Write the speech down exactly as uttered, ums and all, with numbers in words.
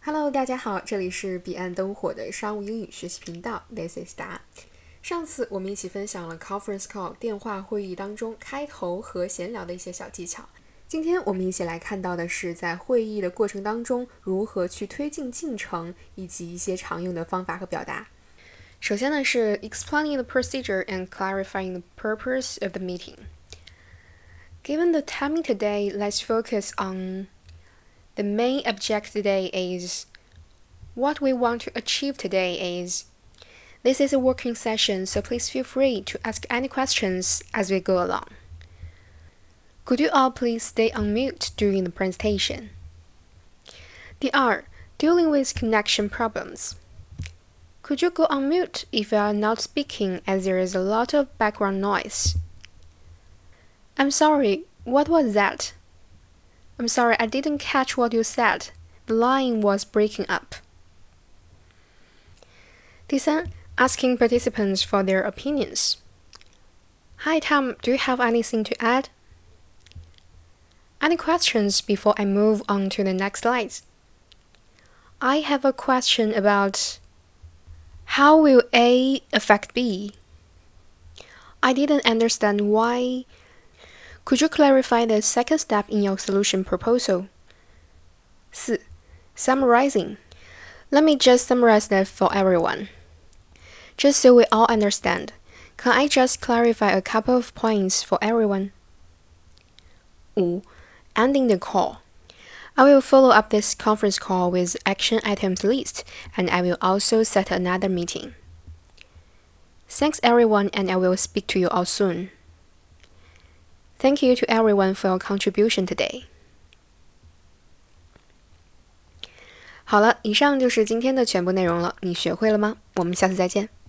Hello，大家好，这里是彼岸灯火的商务英语学习频道 ，This is 达。上次我们一起分享了 conference call 电话会议当中开头和闲聊的一些小技巧。今天我们一起来看到的是在会议的过程当中如何去推进进程，以及一些常用的方法和表达。首先呢是 explaining the procedure and clarifying the purpose of the meeting. Given the timing today, let's focus on the main objective today is what we want to achieve today is this is a working session, so please feel free to ask any questions as we go along. Could you all please stay on mute during the presentation? 第二 Dealing with connection problems. Could you go on mute if you are not speaking as there is a lot of background noise? I'm sorry, what was that? I'm sorry, I didn't catch what you said. The line was breaking up. 第三 Asking participants for their opinions. Hi Tom, do you have anything to add? Any questions before I move on to the next slides? I have a question about how will A affect B? I didn't understand why. Could you clarify the second step in your solution proposal? 四 Summarizing. Let me just summarize that for everyone. Just so we all understand, can I just clarify a couple of points for everyone? 五 Ending the call. I will follow up this conference call with action items list, and I will also set another meeting. Thanks everyone, and I will speak to you all soon. Thank you to everyone for your contribution today. 好了，以上就是今天的全部内容了，你学会了吗？我们下次再见。